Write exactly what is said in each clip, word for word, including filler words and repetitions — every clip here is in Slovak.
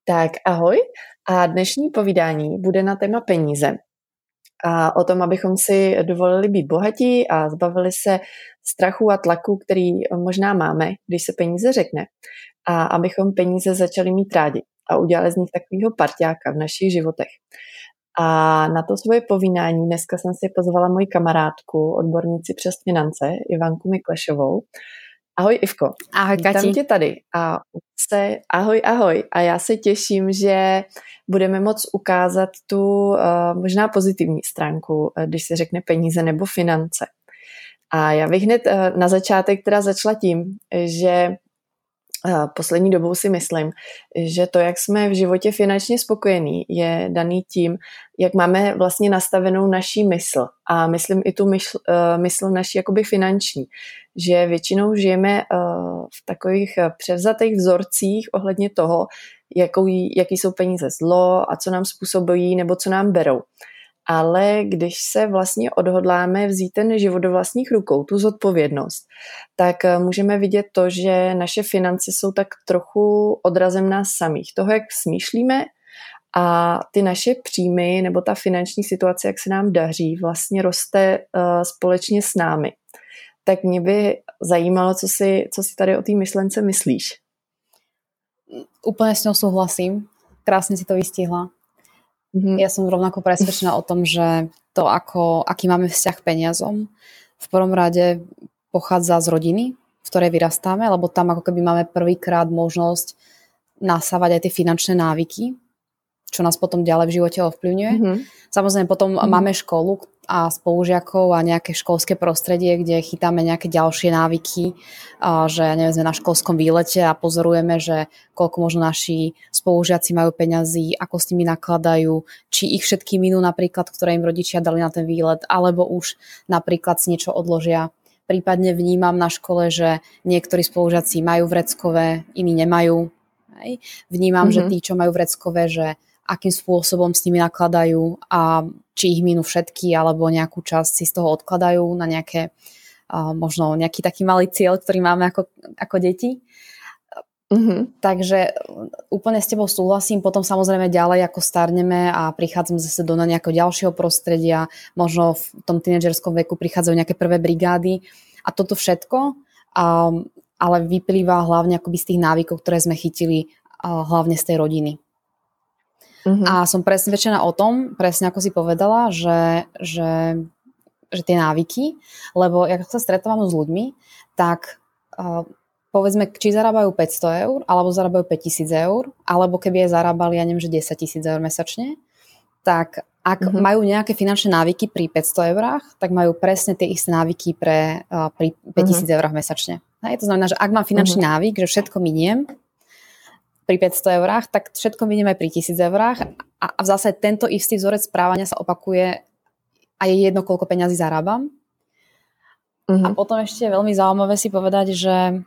Tak ahoj a dnešní povídání bude na téma peníze a o tom, abychom si dovolili být bohatí a zbavili se strachu a tlaku, který možná máme, když se peníze řekne, a abychom peníze začali mít rádi a udělali z nich takovýho parťáka v našich životech. A na to svoje povídání dneska jsem si pozvala moji kamarádku, odbornici přes finance, Ivanku Miklešovou. Ahoj Ivko. Ahoj Kati. Vítám tě tady a se, ahoj, ahoj. A já se těším, že budeme moct ukázat tu uh, možná pozitivní stránku, když se řekne peníze nebo finance. A já bych hned uh, na začátek teda začala tím, že uh, poslední dobou si myslím, že to, jak jsme v životě finančně spokojení, je daný tím, jak máme vlastně nastavenou naší mysl. A myslím i tu mysl, uh, mysl naší jakoby finanční. Že většinou žijeme uh, v takových uh, převzatých vzorcích ohledně toho, jakou, jaký jsou peníze zlo a co nám způsobují nebo co nám berou. Ale když se vlastně odhodláme vzít ten život do vlastních rukou, tu zodpovědnost, tak uh, můžeme vidět to, že naše finance jsou tak trochu odrazem nás samých. Toho, jak smýšlíme a ty naše příjmy nebo ta finanční situace, jak se nám daří, vlastně roste uh, společně s námi. Tak mě by zajímalo, co si, co si tady o té myšlence myslíš. Úplne s ňou súhlasím. Krásne si to vystihla. Mm-hmm. Ja som rovnako presvedčená o tom, že to, ako, aký máme vzťah k peniazom, v prvom rade pochádza z rodiny, v ktorej vyrastáme, lebo tam ako keby máme prvýkrát možnosť nasávať aj tie finančné návyky, čo nás potom ďalej v živote ovplyvňuje. Mm-hmm. Samozrejme potom mm-hmm. máme školu a spolužiakov a nejaké školské prostredie, kde chytáme nejaké ďalšie návyky, a že neviem, sme na školskom výlete a pozorujeme, že koľko možno naši spolužiaci majú peňazí, ako s nimi nakladajú, či ich všetky minú napríklad, ktoré im rodičia dali na ten výlet, alebo už napríklad si niečo odložia. Prípadne vnímam na škole, že niektorí spolužiaci majú vreckové, iní nemajú. Hej. Vnímam, mm-hmm. že tí, čo majú vreckové, že akým spôsobom s nimi nakladajú a či ich minú všetky alebo nejakú časť si z toho odkladajú na nejaké, uh, možno nejaký taký malý cieľ, ktorý máme ako, ako deti. Mm-hmm. Takže úplne s tebou súhlasím. Potom samozrejme ďalej ako starneme a prichádzame zase do nejakého ďalšieho prostredia, možno v tom tínedžerskom veku prichádzajú nejaké prvé brigády a toto všetko, um, ale vyplýva hlavne akoby z tých návykov, ktoré sme chytili uh, hlavne z tej rodiny. Uh-huh. A som presvedčená o tom, presne ako si povedala, že, že, že tie návyky, lebo jak sa stretávam s ľuďmi, tak uh, povedzme, či zarábajú päťsto eur, alebo zarábajú päťtisíc eur, alebo keby aj zarábali, ja neviem, že desaťtisíc eur mesačne, tak ak uh-huh. majú nejaké finančné návyky pri päťsto eurách, tak majú presne tie isté návyky pre, uh, pri päťtisíc uh-huh. eurách mesačne. Hej, to znamená, že ak mám finančný uh-huh. návyk, že všetko miniem pri päťsto eurách, tak všetko miniem aj pri tisíc eurách a, a v zase tento istý vzorec správania sa opakuje a je jedno, koľko peňazí zarábam. Uh-huh. A potom ešte je veľmi zaujímavé si povedať, že,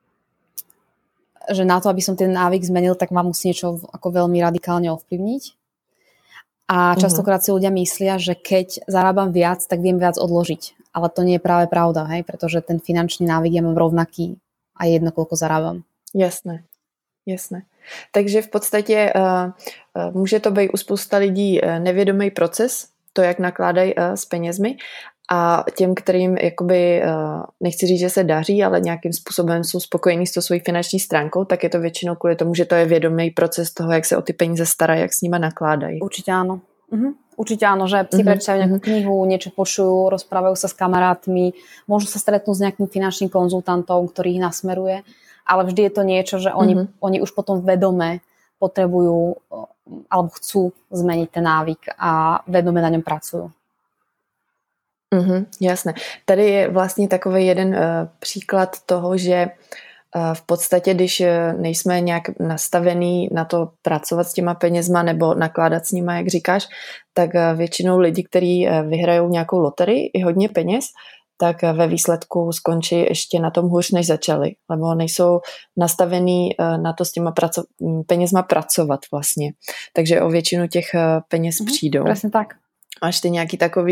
že na to, aby som ten návyk zmenil, tak ma musí niečo ako veľmi radikálne ovplyvniť. A častokrát si ľudia myslia, že keď zarábam viac, tak viem viac odložiť. Ale to nie je práve pravda, hej? Pretože ten finančný návyk ja mám rovnaký a je jedno, koľko zarábam. Jasné. Jasné. Takže v podstatě uh, uh, může to být u spousta lidí uh, nevědomý proces, to, jak nakládají uh, s penězmi a těm, kterým jakoby, uh, nechci říct, že se daří, ale nějakým způsobem jsou spokojení s tou svojí finanční stránkou, tak je to většinou kvůli tomu, že to je vědomý proces toho, jak se o ty peníze starají, jak s nima nakládají. Určitě ano. Mhm. Určite áno, že si uh-huh. prečítajú nejakú knihu, niečo počujú, rozprávajú sa s kamarátmi, môžu sa stretnúť s nejakým finančným konzultantom, ktorý ich nasmeruje, ale vždy je to niečo, že oni, uh-huh. oni už potom vedome potrebujú alebo chcú zmeniť ten návyk a vedome na ňom pracujú. Uh-huh, jasné. Tady je vlastně takový jeden uh, příklad toho, že v podstatě, když nejsme nějak nastavený na to pracovat s těma penězma nebo nakládat s nima, jak říkáš, tak většinou lidi, kteří vyhrajou nějakou loterii i hodně peněz, tak ve výsledku skončí ještě na tom hůř, než začali, lebo nejsou nastavený na to s těma praco- penězma pracovat vlastně. Takže o většinu těch peněz mm, přijdou. Přesně tak. Máš ty nějaký takovýhle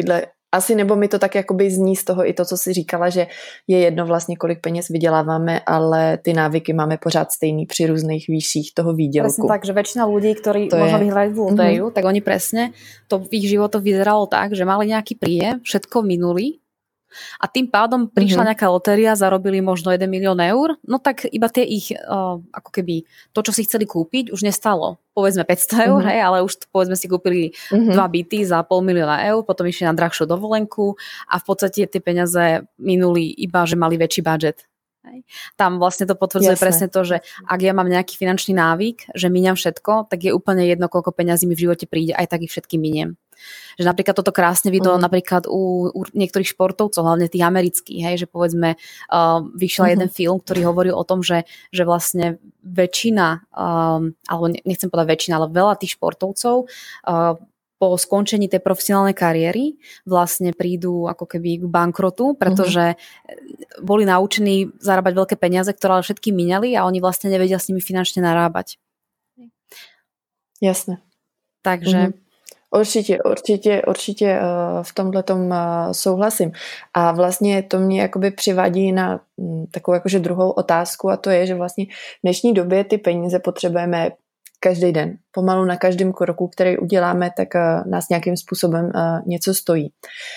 asi nebo mi to tak jakoby zní z toho i to, co jsi říkala, že je jedno vlastně, kolik peněz vyděláváme, ale ty návyky máme pořád stejný při různých výších toho výdělku. Presne tak, že väčšina ľudí, ktorí to možno je... vyhrali v lotériu, mm-hmm. tak oni presne, to v ich životoch vyzeralo tak, že mali nejaký príjem, všetko minuli a tým pádom prišla mm-hmm. nejaká lotéria, zarobili možno jeden milión eur, no tak iba tie ich, uh, ako keby to, čo si chceli kúpiť, už nestalo povedzme päťsto eur, mm-hmm. hej, ale už povedzme si kúpili mm-hmm. dva byty za pol milióna eur, potom išli na drahšiu dovolenku a v podstate tie peniaze minuli iba, že mali väčší budget. Hej. Tam vlastne to potvrdzuje Jasne. presne to, že ak ja mám nejaký finančný návyk, že míňam všetko, tak je úplne jedno, koľko peňazí mi v živote príde, aj tak ich všetky miniem. Že napríklad toto krásne vidno uh-huh. napríklad u, u niektorých športovcov, hlavne tých amerických, hej, že povedzme uh, vyšiel uh-huh. jeden film, ktorý hovoril o tom, že, že vlastne väčšina, um, alebo nechcem povedať väčšina, ale veľa tých športovcov uh, po skončení tej profesionálnej kariéry vlastne prídu ako keby k bankrotu, pretože uh-huh. boli naučení zarábať veľké peniaze, ktoré ale všetky míňali a oni vlastne nevedia s nimi finančne narábať. Jasné. Takže... Uh-huh. Určitě, určitě, určitě v tomhletom souhlasím. A vlastně to mě jakoby přivádí na takovou jakože druhou otázku a to je, že vlastně v dnešní době ty peníze potřebujeme každý den. Pomalu na každém kroku, který uděláme, tak nás nějakým způsobem něco stojí.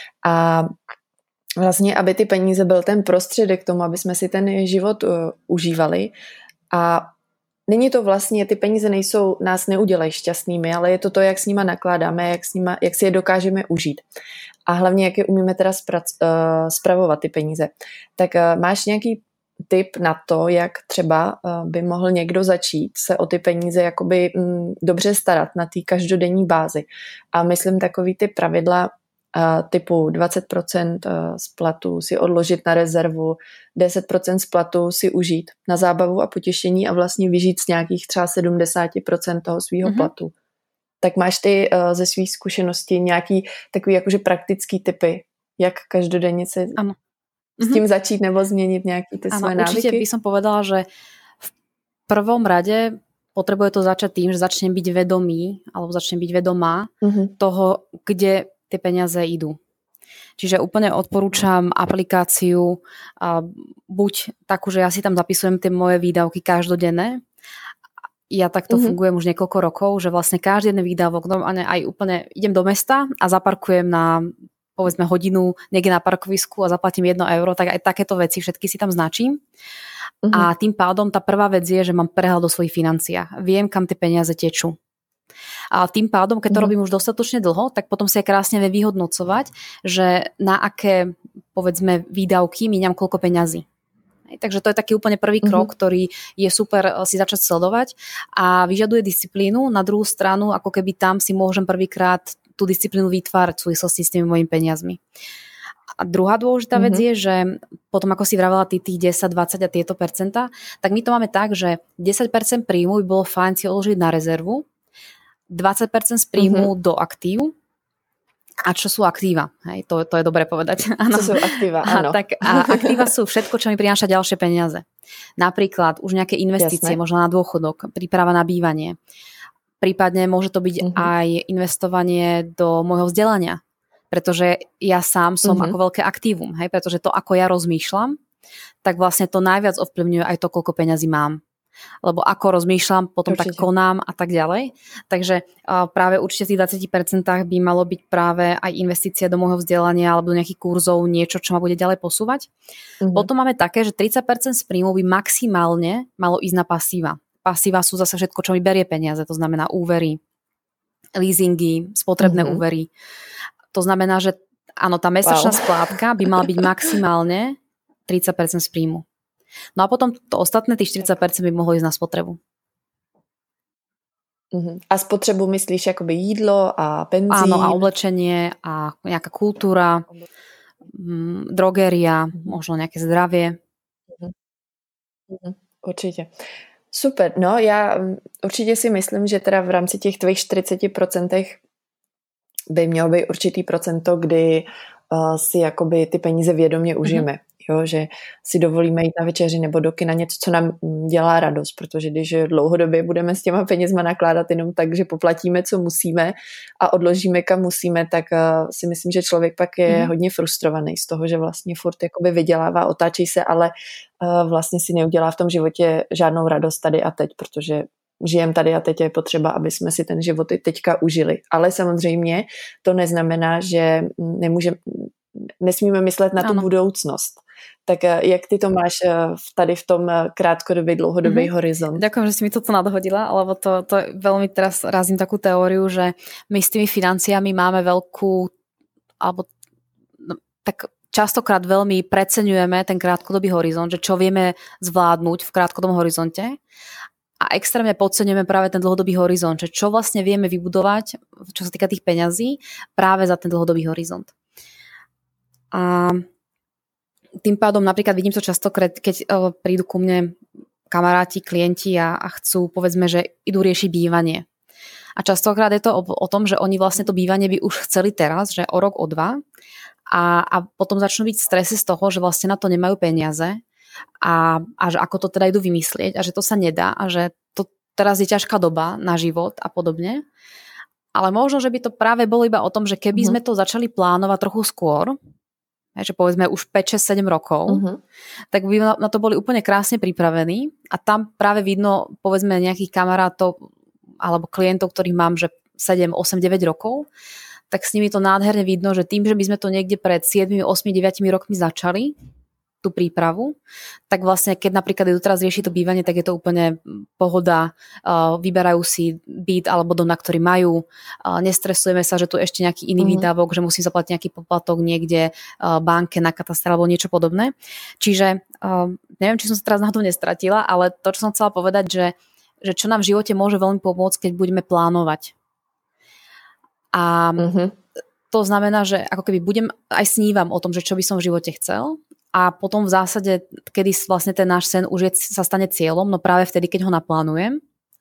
A vlastně, aby ty peníze byl ten prostředek k tomu, aby jsme si ten život užívali a není to vlastně, ty peníze nejsou, nás neudělají šťastnými, ale je to to, jak s nima nakládáme, jak, s nima, jak si je dokážeme užít. A hlavně, jak je umíme teda sprac, uh, spravovat ty peníze. Tak uh, máš nějaký tip na to, jak třeba uh, by mohl někdo začít se o ty peníze jakoby um, dobře starat na té každodenní bázi. A myslím takový ty pravidla uh, typu dvacet procent z platu si odložit na rezervu, deset procent z platu si užít na zábavu a potěšení a vlastně vyžít z nějakých třeba sedmdesát procent toho svýho mm-hmm. platu. Tak máš ty uh, ze svých zkušeností nějaký takový jakože praktický tipy, jak každodenně se ano. s tím mm-hmm. začít nebo změnit nějaký ty ano, svoje návyky? Určite by som povedala, že v prvom rade potrebuje to začať tým, že začnem byť vedomý alebo začnem byť vedomá mm-hmm. toho, kde tie peniaze idú. Čiže úplne odporúčam aplikáciu a buď takú, že ja si tam zapisujem tie moje výdavky každodenné. Ja takto mm-hmm. fungujem už niekoľko rokov, že vlastne každý jeden výdavok, normálne aj úplne idem do mesta a zaparkujem na povedzme hodinu niekde na parkovisku a zaplatím jedno euro, tak aj takéto veci všetky si tam značím. Mm-hmm. A tým pádom tá prvá vec je, že mám prehľad o svojich financiách. Viem, kam tie peniaze tečú. A tým pádom, keď to mm. robím už dostatočne dlho, tak potom si aj krásne vie vyhodnocovať, že na aké, povedzme, výdavky míňam koľko peňazí. Takže to je taký úplne prvý krok, mm-hmm. ktorý je super si začať sledovať a vyžaduje disciplínu. Na druhú stranu, ako keby tam si môžem prvýkrát tú disciplínu vytvárať v súvislosti s tými mojimi peniazmi. A druhá dôležitá mm-hmm. vec je, že potom ako si vravela ty tých desať, dvadsať a tieto percentá, tak my to máme tak, že desať percent príjmu by bolo fajn si odložiť na rezervu, dvadsať percent z príjmu mm-hmm. do aktív. A čo sú aktíva? Hej, to, to je dobre povedať. Ano. Co sú aktíva, áno. A, tak, a aktíva sú všetko, čo mi prináša ďalšie peniaze. Napríklad už nejaké investície, Jasné. možno na dôchodok, príprava na bývanie. Prípadne môže to byť mm-hmm. aj investovanie do môjho vzdelania. Pretože ja sám som mm-hmm. ako veľké aktívum. Hej, pretože to, ako ja rozmýšľam, tak vlastne to najviac ovplyvňuje aj to, koľko peňazí mám. Lebo ako rozmýšľam, potom určite. Tak konám a tak ďalej. Takže uh, práve určite v tých dvadsať percent by malo byť práve aj investícia do môjho vzdelania alebo do nejakých kurzov, niečo, čo ma bude ďalej posúvať. Mm-hmm. Potom máme také, že tridsať percent z príjmu by maximálne malo ísť na pasíva. Pasíva sú zase všetko, čo mi berie peniaze, to znamená úvery, leasingy, spotrebné mm-hmm. úvery. To znamená, že áno, tá mesačná wow. splátka by mala byť maximálne tridsať percent z príjmu. No a potom to ostatné, tých štyridsať percent by mohlo ísť na spotrebu. Uh-huh. A spotrebu myslíš akoby jídlo a benzín? Áno, a oblečenie a nejaká kultúra, mm, drogéria, uh-huh. možno nejaké zdravie. Uh-huh. Uh-huh. Určitě. Super, no já určitě si myslím, že teda v rámci těch tvých čtyřicet procent by mělo být určitý procento, kdy uh, si jakoby ty peníze vědomě užijeme. Uh-huh. Jo, že si dovolíme jít na večeři nebo do kina, něco, co nám dělá radost, protože když dlouhodobě budeme s těma penězma nakládat jenom tak, že poplatíme, co musíme a odložíme, kam musíme, tak si myslím, že člověk pak je mm. hodně frustrovaný z toho, že vlastně furt jakoby vydělává, otáčí se, ale vlastně si neudělá v tom životě žádnou radost tady a teď, protože žijem tady a teď je potřeba, aby jsme si ten život i teďka užili. Ale samozřejmě to neznamená, že nemůžeme, nesmíme myslet na tu ano. budoucnost. Tak jak ty to máš tady v tom krátkodobý, dlouhodobý mm-hmm. horizont? Ďakujem, že si mi toto nadhodila, lebo to, to veľmi teraz razím takú teóriu, že my s tými financiami máme veľkú, alebo no, tak častokrát veľmi preceňujeme ten krátkodobý horizont, že čo vieme zvládnuť v krátkodobom horizonte a extrémne podceňujeme práve ten dlhodobý horizont, že čo vlastne vieme vybudovať, čo sa týka tých peňazí, práve za ten dlhodobý horizont. A tým pádom napríklad vidím to často, keď prídu ku mne kamaráti, klienti a, a chcú, povedzme, že idú riešiť bývanie. A častokrát je to o, o tom, že oni vlastne to bývanie by už chceli teraz, že o rok, o dva a, a potom začnú byť v strese z toho, že vlastne na to nemajú peniaze a, a že ako to teda idú vymyslieť a že to sa nedá a že to teraz je ťažká doba na život a podobne. Ale možno, že by to práve bolo iba o tom, že keby mm-hmm. sme to začali plánovať trochu skôr, že povedzme už päť, šesť, sedem rokov, uh-huh. tak by na to boli úplne krásne pripravení a tam práve vidno povedzme nejakých kamarátov alebo klientov, ktorých mám, že sedem, osem, deväť rokov, tak s nimi to nádherne vidno, že tým, že by sme to niekde pred sedem, osem, deväť rokmi začali, tú prípravu, tak vlastne keď napríklad idú teraz riešiť to bývanie, tak je to úplne pohoda, uh, vyberajú si byt alebo dom, na ktorý majú, uh, nestresujeme sa, že tu ešte nejaký iný mm-hmm. výdavok, že musím zaplatiť nejaký poplatok niekde uh, banke na katastre alebo niečo podobné. Čiže uh, neviem, či som sa teraz na to nestratila, ale to, čo som chcela povedať, že, že čo nám v živote môže veľmi pomôcť, keď budeme plánovať. A mm-hmm. to znamená, že ako keby budem, aj snívam o tom, že čo by som v živote chcel, a potom v zásade, kedy vlastne ten náš sen už je, sa stane cieľom, no práve vtedy, keď ho naplánujem.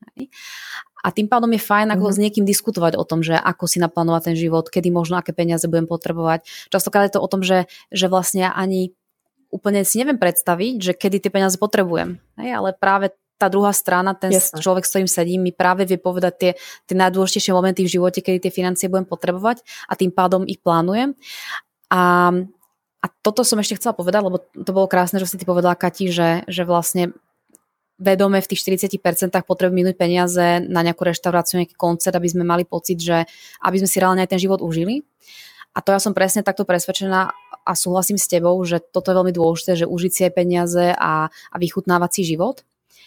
A tým pádom je fajn ako mm-hmm. s niekým diskutovať o tom, že ako si naplánovať ten život, kedy možno aké peniaze budem potrebovať. Častokrát je to o tom, že, že vlastne ani úplne si neviem predstaviť, že kedy tie peniaze potrebujem. Hej? Ale práve tá druhá strana, ten Jasne. Človek, s ktorým sedím, mi práve vie povedať tie, tie najdôležitejšie momenty v živote, kedy tie financie budem potrebovať a tým pádom ich plánujem. A A toto som ešte chcela povedať, lebo to bolo krásne, že si ty povedala, Kati, že, že vlastne vedome v tých štyridsať percent potrebujem minúť peniaze na nejakú reštauráciu, nejaký koncert, aby sme mali pocit, že aby sme si reálne aj ten život užili. A to ja som presne takto presvedčená a súhlasím s tebou, že toto je veľmi dôležité, že užiť si aj peniaze a, a vychutnávať si život.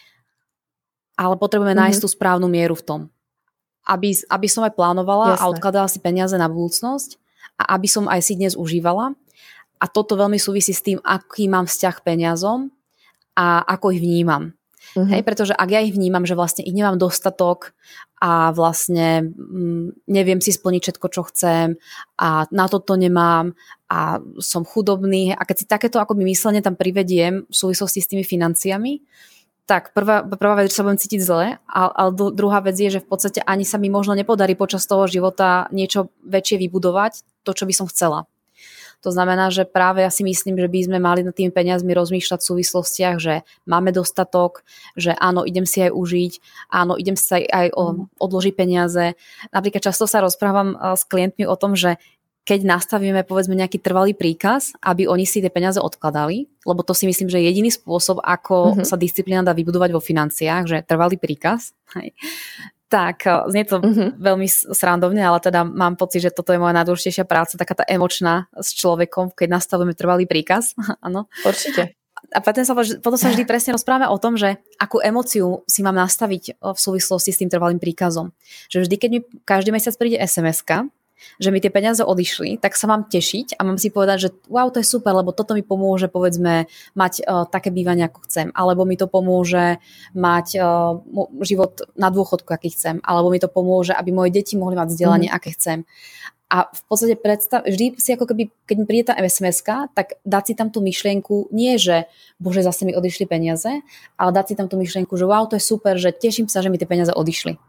Ale potrebujeme mm-hmm. nájsť tú správnu mieru v tom. Aby, aby som aj plánovala Jasne. A odkladala si peniaze na budúcnosť a aby som aj si dnes užívala. A toto veľmi súvisí s tým, aký mám vzťah k peniazom a ako ich vnímam. Uh-huh. Hej, pretože ak ja ich vnímam, že vlastne ich nemám dostatok a vlastne mm, neviem si splniť všetko, čo chcem a na toto nemám a som chudobný a keď si takéto akoby myslenie tam privediem v súvislosti s tými financiami, tak prvá, prvá vec, že sa budem cítiť zle, ale druhá vec je, že v podstate ani sa mi možno nepodarí počas toho života niečo väčšie vybudovať, to, čo by som chcela. To znamená, že práve ja si myslím, že by sme mali nad tými peniazmi rozmýšľať v súvislostiach, že máme dostatok, že áno, idem si aj užiť, áno, idem si aj odložiť peniaze. Napríklad často sa rozprávam s klientmi o tom, že keď nastavíme povedzme nejaký trvalý príkaz, aby oni si tie peniaze odkladali, lebo to si myslím, že je jediný spôsob, ako mm-hmm. sa disciplína dá vybudovať vo financiách, že trvalý príkaz. Hej. Tak, znie to uh-huh. veľmi srandovne, ale teda mám pocit, že toto je moja najdôležitejšia práca, taká tá emočná s človekom, keď nastavujeme trvalý príkaz. Áno. Určite. A potom sa, potom sa vždy presne rozprávame o tom, že akú emóciu si mám nastaviť v súvislosti s tým trvalým príkazom. Že vždy, keď mi každý mesiac príde es em eska, že mi tie peniaze odišli, tak sa mám tešiť a mám si povedať, že wow, to je super, lebo toto mi pomôže, povedzme, mať uh, také bývanie, ako chcem, alebo mi to pomôže mať uh, život na dôchodku, aký chcem, alebo mi to pomôže, aby moje deti mohli mať vzdelanie, mm. aké chcem. A v podstate predstav, vždy si ako keby, keď mi príde tá es em eska, tak dať si tam tú myšlienku, nie že bože, zase mi odišli peniaze, ale dať si tam tú myšlienku, že wow, to je super, že teším sa, že mi tie peniaze odišli.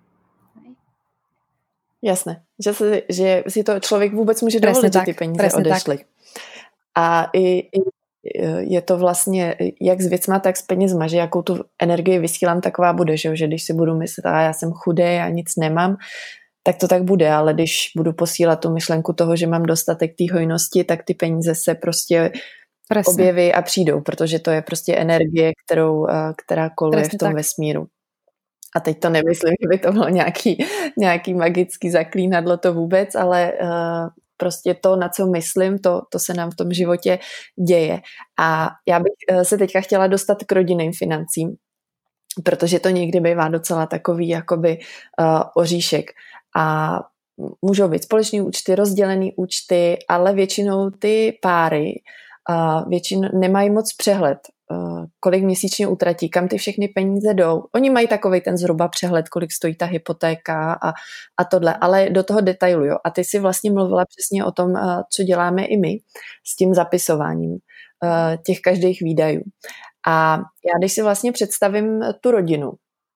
Jasné, že si, že si to člověk vůbec může dovolit, že ty peníze odešly. Tak. A i, i je to vlastně jak s věcma, tak s penězma, že jakou tu energii vysílám, taková bude, že, že když si budu myslet, a já jsem chudý, já nic nemám, tak to tak bude, ale když budu posílat tu myšlenku toho, že mám dostatek té hojnosti, tak ty peníze se prostě Presne. objeví a přijdou, protože to je prostě energie, kterou, která koluje Presne v tom tak. vesmíru. A teď to nemyslím, že by to bylo nějaký, nějaký magický zaklínadlo, to vůbec, ale uh, prostě to, na co myslím, to, to se nám v tom životě děje. A já bych se teďka chtěla dostat k rodinným financím, protože to někdy bývá docela takový jakoby uh, oříšek. A můžou být společný účty, rozdělený účty, ale většinou ty páry uh, většinou nemají moc přehled, uh, kolik měsíčně utratí, kam ty všechny peníze jdou. Oni mají takovej ten zhruba přehled, kolik stojí ta hypotéka a, a tohle, ale do toho detailu. Jo. A ty si vlastně mluvila přesně o tom, uh, co děláme i my s tím zapisováním uh, těch každých výdajů. A já když si vlastně představím tu rodinu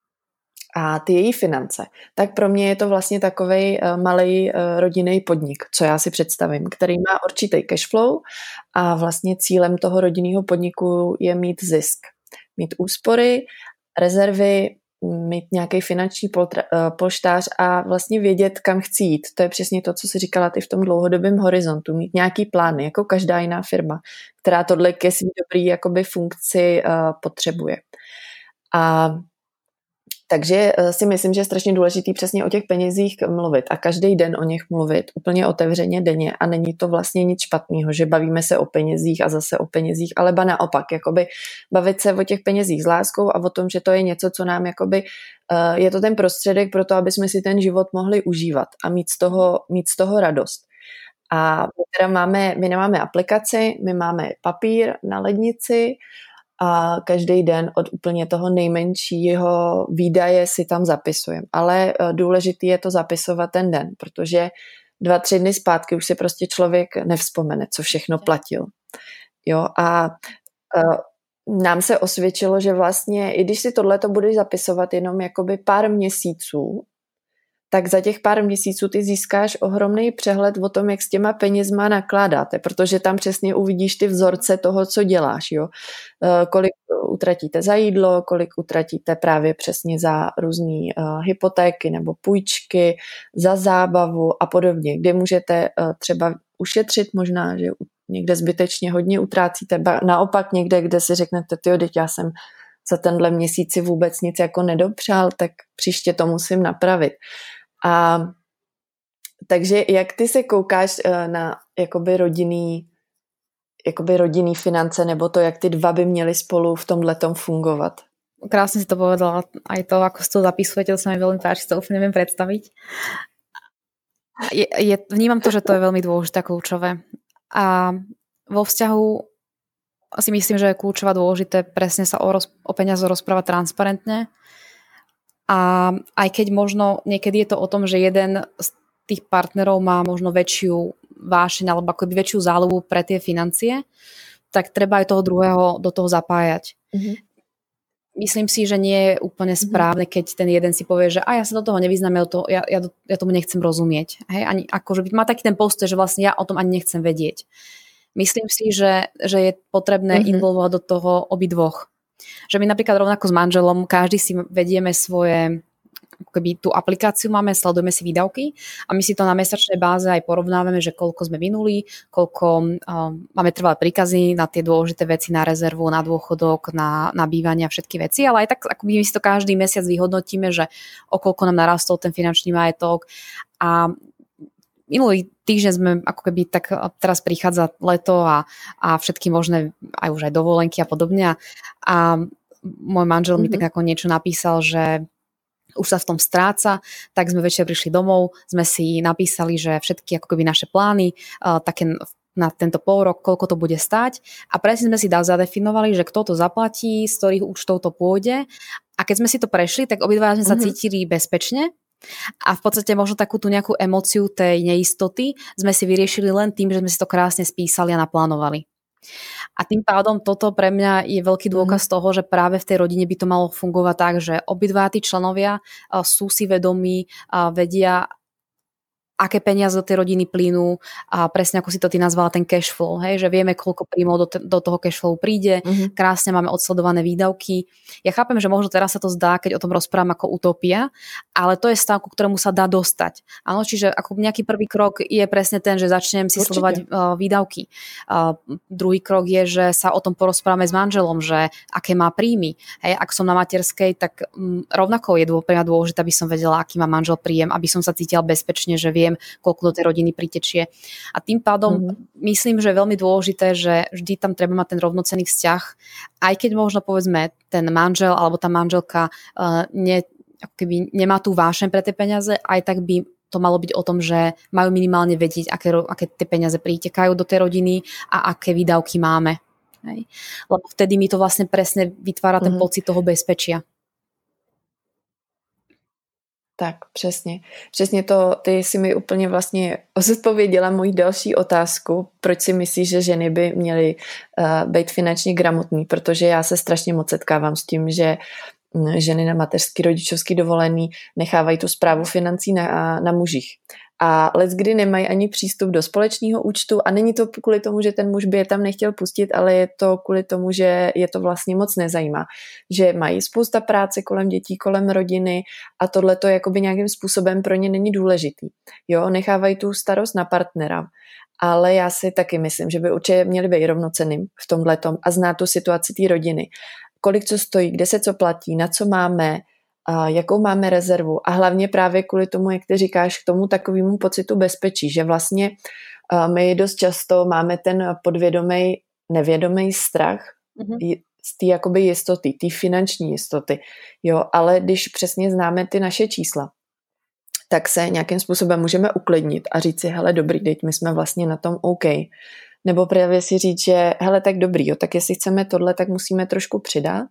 a ty její finance, tak pro mě je to vlastně takovej uh, malej uh, rodinný podnik, co já si představím, který má určitý cashflow a vlastně cílem toho rodinného podniku je mít zisk, mít úspory, rezervy, mít nějaký finanční poltra, uh, polštář a vlastně vědět, kam chci jít. To je přesně to, co jsi říkala ty v tom dlouhodobém horizontu, mít nějaký plány, jako každá jiná firma, která tohle ke svý dobrý jakoby funkci uh, potřebuje. A takže si myslím, že je strašně důležitý přesně o těch penězích mluvit a každý den o nich mluvit úplně otevřeně denně a není to vlastně nic špatného, že bavíme se o penězích a zase o penězích, ale ba naopak, jakoby bavit se o těch penězích s láskou a o tom, že to je něco, co nám jakoby, je to ten prostředek pro to, aby jsme si ten život mohli užívat a mít z toho, mít z toho radost. A my teda máme, my nemáme aplikaci, my máme papír na lednici a každý den od úplně toho nejmenšího výdaje si tam zapisujeme. Ale důležitý je to zapisovat ten den, protože dva, tři dny zpátky už si prostě člověk nevzpomene, co všechno platil. Jo, a uh, nám se osvědčilo, že vlastně, i když si tohleto budeš zapisovat jenom jakoby pár měsíců, tak za těch pár měsíců ty získáš ohromný přehled o tom, jak s těma penězma nakládáte, protože tam přesně uvidíš ty vzorce toho, co děláš. Jo? Kolik utratíte za jídlo, kolik utratíte právě přesně za různé uh, hypotéky nebo půjčky, za zábavu a podobně, kde můžete uh, třeba ušetřit možná, že někde zbytečně hodně utrácíte, ba naopak někde, kde si řeknete, tyjo, teď já jsem za tenhle měsíc si vůbec nic jako nedopřál, tak příště to musím napravit. A takže jak ty se koukáš na jakoby rodinný, jakoby rodinný finance, nebo to, jak ty dva by měly spolu v tomhletom fungovat? Krásne si to povedala. Aj to, ako si to zapisujete, to sa mi veľmi páči, to úplne neviem predstaviť. Je, je, vnímam to, že to je veľmi dôležité a kľúčové. A vo vzťahu si myslím, že je kľúčové dôležité presne sa o, roz, o peniazoch rozprávať transparentne. A aj keď možno niekedy je to o tom, že jeden z tých partnerov má možno väčšiu vášeň alebo akoby väčšiu záľubu pre tie financie, tak treba aj toho druhého do toho zapájať. Mm-hmm. Myslím si, že nie je úplne správne, keď ten jeden si povie, že a ja sa do toho nevyznám, ja, to, ja, ja, ja tomu nechcem rozumieť. Hej? Ani, akože má taký ten postoj, že vlastne ja o tom ani nechcem vedieť. Myslím si, že, že je potrebné mm-hmm. involvovať do toho obidvoch. Že my napríklad rovnako s manželom, každý si vedieme svoje, akoby tú aplikáciu máme, sledujeme si výdavky a my si to na mesačnej báze aj porovnávame, že koľko sme minuli, koľko um, máme trvalé príkazy na tie dôležité veci, na rezervu, na dôchodok, na, na bývanie a všetky veci, ale aj tak akoby my si to každý mesiac vyhodnotíme, že o koľko nám narastol ten finančný majetok a minulý týždeň sme ako keby tak, teraz prichádza leto a, a všetky možné aj už aj dovolenky a podobne a, a môj manžel mm-hmm. mi tak ako niečo napísal, že už sa v tom stráca, tak sme večer prišli domov, sme si napísali, že všetky ako keby naše plány uh, také na tento pol rok, koľko to bude stáť a presne sme si zadefinovali, že kto to zaplatí, z ktorých účtov to pôjde a keď sme si to prešli, tak obidva sme mm-hmm. sa cítili bezpečne. A v podstate možno takú tú nejakú emóciu tej neistoty sme si vyriešili len tým, že sme si to krásne spísali a naplánovali. A tým pádom toto pre mňa je veľký dôkaz mm. toho, že práve v tej rodine by to malo fungovať tak, že obidva tí členovia sú si vedomí, vedia, aké peniaze do tej rodiny plynú a presne ako si to ty nazvala ten cash flow, hej, že vieme, koľko príjmov do, t- do toho cash flow príde, mm-hmm. krásne máme odsledované výdavky. Ja chápem, že možno teraz sa to zdá, keď o tom rozprávam ako utopia, ale to je stav, ku ktorému sa dá dostať. Áno, čiže ako nejaký prvý krok je presne ten, že začnem si Určite. sledovať uh, výdavky. Uh, druhý krok je, že sa o tom porozprávame s manželom, že aké má príjmy. Hej, ak som na materskej, tak um, rovnako je dô, pre mňa dôležité, aby som vedela, aký má manžel príjem, aby som sa cítila bezpečne, že vie koľko do tej rodiny pritečie. A tým pádom mm-hmm. myslím, že je veľmi dôležité, že vždy tam treba mať ten rovnocenný vzťah, aj keď možno povedzme ten manžel alebo tá manželka uh, ne, keby nemá tú vášeň pre tie peniaze, aj tak by to malo byť o tom, že majú minimálne vedieť, aké, aké tie peniaze pritekajú do tej rodiny a aké výdavky máme. Hej. Lebo vtedy mi to vlastne presne vytvára ten mm-hmm. pocit toho bezpečia. Tak, přesně. Přesně to, ty si mi úplně vlastně zodpověděla moji další otázku, proč si myslíš, že ženy by měly uh, být finančně gramotný, protože já se strašně moc setkávám s tím, že ženy na mateřský, rodičovský dovolený nechávají tu správu financí na, na mužích. A leckdy nemají ani přístup do společného účtu a není to kvůli tomu, že ten muž by je tam nechtěl pustit, ale je to kvůli tomu, že je to vlastně moc nezajímá. Že mají spousta práce kolem dětí, kolem rodiny a tohle to jakoby nějakým způsobem pro ně není důležitý. Jo, nechávají tu starost na partnera. Ale já si taky myslím, že by určitě měli být rovnocenným v tomhletom a znát tu situaci té rodiny. Kolik co stojí, kde se co platí, na co máme, a jakou máme rezervu a hlavně právě kvůli tomu, jak ty říkáš, k tomu takovému pocitu bezpečí, že vlastně my dost často máme ten podvědomý, nevědomý strach mm-hmm. z té jakoby jistoty, té finanční jistoty, jo, ale když přesně známe ty naše čísla, tak se nějakým způsobem můžeme uklidnit a říct si, hele dobrý, teď my jsme vlastně na tom OK. Nebo právě si říct, že hele tak dobrý, jo, tak jestli chceme tohle, tak musíme trošku přidat.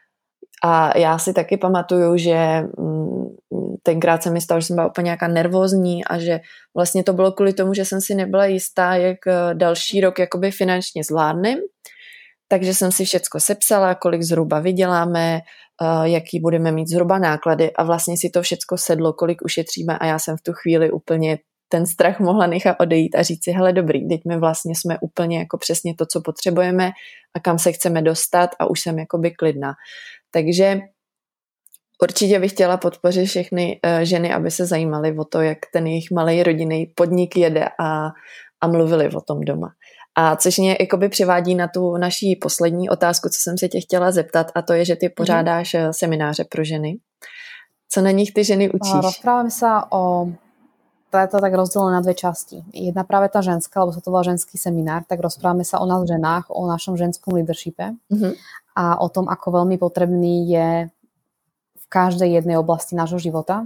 A já si taky pamatuju, že tenkrát se mi stalo, že jsem byla úplně nějaká nervózní a že vlastně to bylo kvůli tomu, že jsem si nebyla jistá, jak další rok jakoby finančně zvládnem. Takže jsem si všecko sepsala, kolik zhruba vyděláme, jaký budeme mít zhruba náklady a vlastně si to všecko sedlo, kolik ušetříme a já jsem v tu chvíli úplně ten strach mohla nechat odejít a říct si, hele dobrý, teď my vlastně jsme úplně jako přesně to, co potřebujeme a kam se chceme dostat a už jsem jakoby klidná. Takže určitě bych chtěla podpořit všechny uh, ženy, aby se zajímaly o to, jak ten jejich malý rodinný podnik jede a, a mluvili o tom doma. A což mě jakoby přivádí na tu naší poslední otázku, co jsem se tě chtěla zeptat, a to je, že ty pořádáš mm. semináře pro ženy. Co na nich ty ženy učíš? Rozprávame sa o... To je to tak rozdelené na dve časti. Jedna práve tá ženská, lebo sa to volá ženský seminár, tak rozprávame sa o nás ženách, o našom ženskom leadershipe mm-hmm. a o tom, ako veľmi potrebný je v každej jednej oblasti nášho života.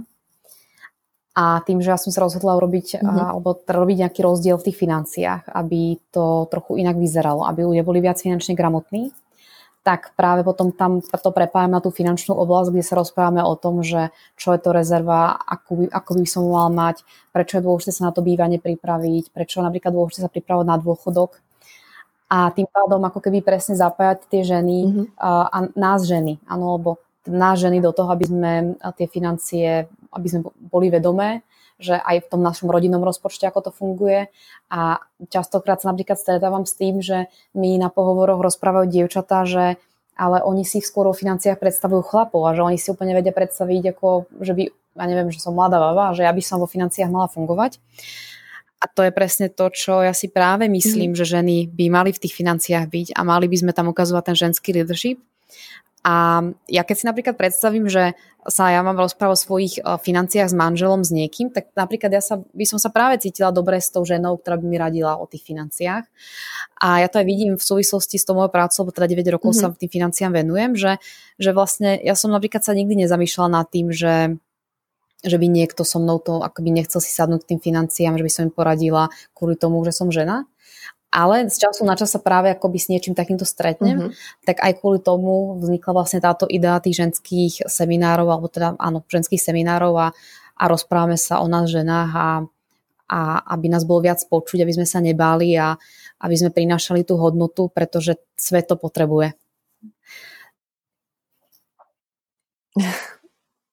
A tým, že ja som sa rozhodla urobiť, mm-hmm. alebo robiť nejaký rozdiel v tých financiách, aby to trochu inak vyzeralo, aby ľudia boli viac finančne gramotní, tak práve potom tam to prepájam na tú finančnú oblasť, kde sa rozprávame o tom, že čo je to rezerva, ako by, ako by som mal mať, prečo je dôležité sa na to bývanie pripraviť, prečo je napríklad dôležité sa pripravovať na dôchodok. A tým pádom ako keby presne zapájať tie ženy mm-hmm. a, a nás ženy, áno, lebo nás ženy do toho, aby sme tie financie, aby sme boli vedomé, že aj v tom našom rodinnom rozpočte, ako to funguje. A častokrát sa napríklad stretávam s tým, že mi na pohovoroch rozprávajú dievčatá, že ale oni si skôr o financiách predstavujú chlapov a že oni si úplne vedia predstaviť, ako, že by, ja neviem, že som mladá baba, že ja by som vo financiách mala fungovať. A to je presne to, čo ja si práve myslím, mm. že ženy by mali v tých financiách byť a mali by sme tam ukazovať ten ženský leadership. A ja keď si napríklad predstavím, že sa ja mám rozprávať o svojich financiách s manželom, s niekým, tak napríklad ja sa, by som sa práve cítila dobre s tou ženou, ktorá by mi radila o tých financiách. A ja to aj vidím v súvislosti s tou mojou prácou, lebo teda deväť rokov mm-hmm. sa tým financiám venujem, že, že vlastne ja som napríklad sa nikdy nezamýšľala nad tým, že že by niekto so mnou to akoby nechcel si sadnúť k tým financiám, že by som im poradila kvôli tomu, že som žena. Ale z času na čas sa práve akoby s niečím takýmto stretnem, mm-hmm. tak aj kvôli tomu vznikla vlastne táto idea tých ženských seminárov, alebo teda áno, ženských seminárov a, a rozprávame sa o nás ženách a, a aby nás bolo viac počuť, aby sme sa nebáli a aby sme prinášali tú hodnotu, pretože svet to potrebuje. Tak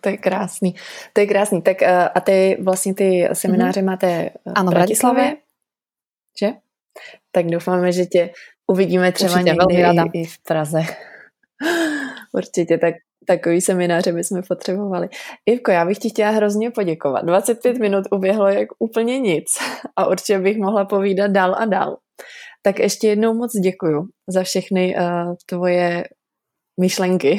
To je krásný. To je krásný. Tak a ty vlastně ty semináře mm-hmm. máte ano, v Bratislavě? Že? Tak doufáme, že tě uvidíme třeba určitě, někdy i, i v Praze. Určitě, tak takový semináře bychom potřebovali. Ivko, já bych ti chtěla hrozně poděkovat. dvacet pět minut uběhlo jak úplně nic a určitě bych mohla povídat dál a dál. Tak ještě jednou moc děkuju za všechny uh, tvoje myšlenky.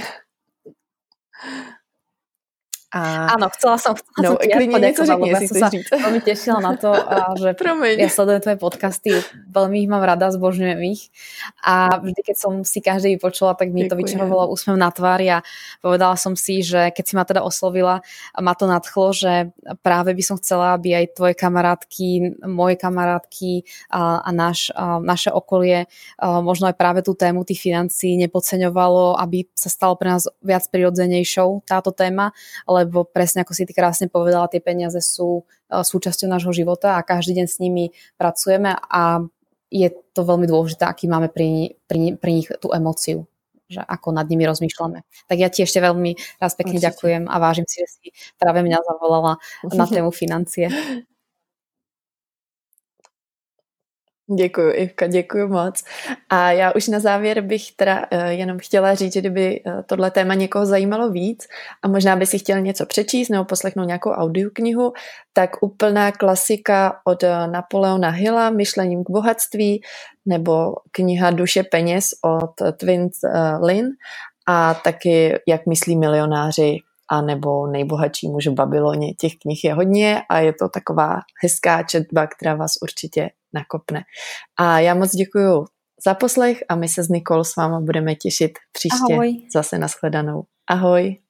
A... Áno, chcela som, chcela no, som ti ja poďakovať, lebo ja som sa říct. veľmi tešila na to, že Promiň. Ja sledujem tvoje podcasty, veľmi ich mám rada, zbožňujem ich a vždy, keď som si každý vypočula, tak mi Ďakujem. To vyčarovalo úsmev na tvári a povedala som si, že keď si ma teda oslovila, ma to nadchlo, že práve by som chcela, aby aj tvoje kamarátky, moje kamarátky a, a naš, a naše okolie a možno aj práve tú tému tých financií nepodceňovalo, aby sa stalo pre nás viac prirodzenejšou táto téma, lebo presne ako si ty krásne povedala, tie peniaze sú súčasťou nášho života a každý deň s nimi pracujeme a je to veľmi dôležité, aký máme pri, pri, pri nich tú emóciu, že ako nad nimi rozmýšľame. Tak ja ti ešte veľmi raz pekne Určite. Ďakujem a vážim si, že si práve mňa zavolala na tému financie. Děkuju, Ivka, děkuju moc. A já už na závěr bych teda uh, jenom chtěla říct, že kdyby uh, tohle téma někoho zajímalo víc a možná by si chtěl něco přečíst nebo poslechnout nějakou audioknihu, tak úplná klasika od uh, Napoleona Hilla, Myšlením k bohatství, nebo kniha Duše peněz od uh, Twins uh, Lin a taky Jak myslí milionáři a nebo Nejbohatší muž v Babyloně. Těch knih je hodně a je to taková hezká četba, která vás určitě nakopne. A já moc děkuju za poslech a my se s Nikol s váma budeme těšit příště. Ahoj. Zase nashledanou. Ahoj.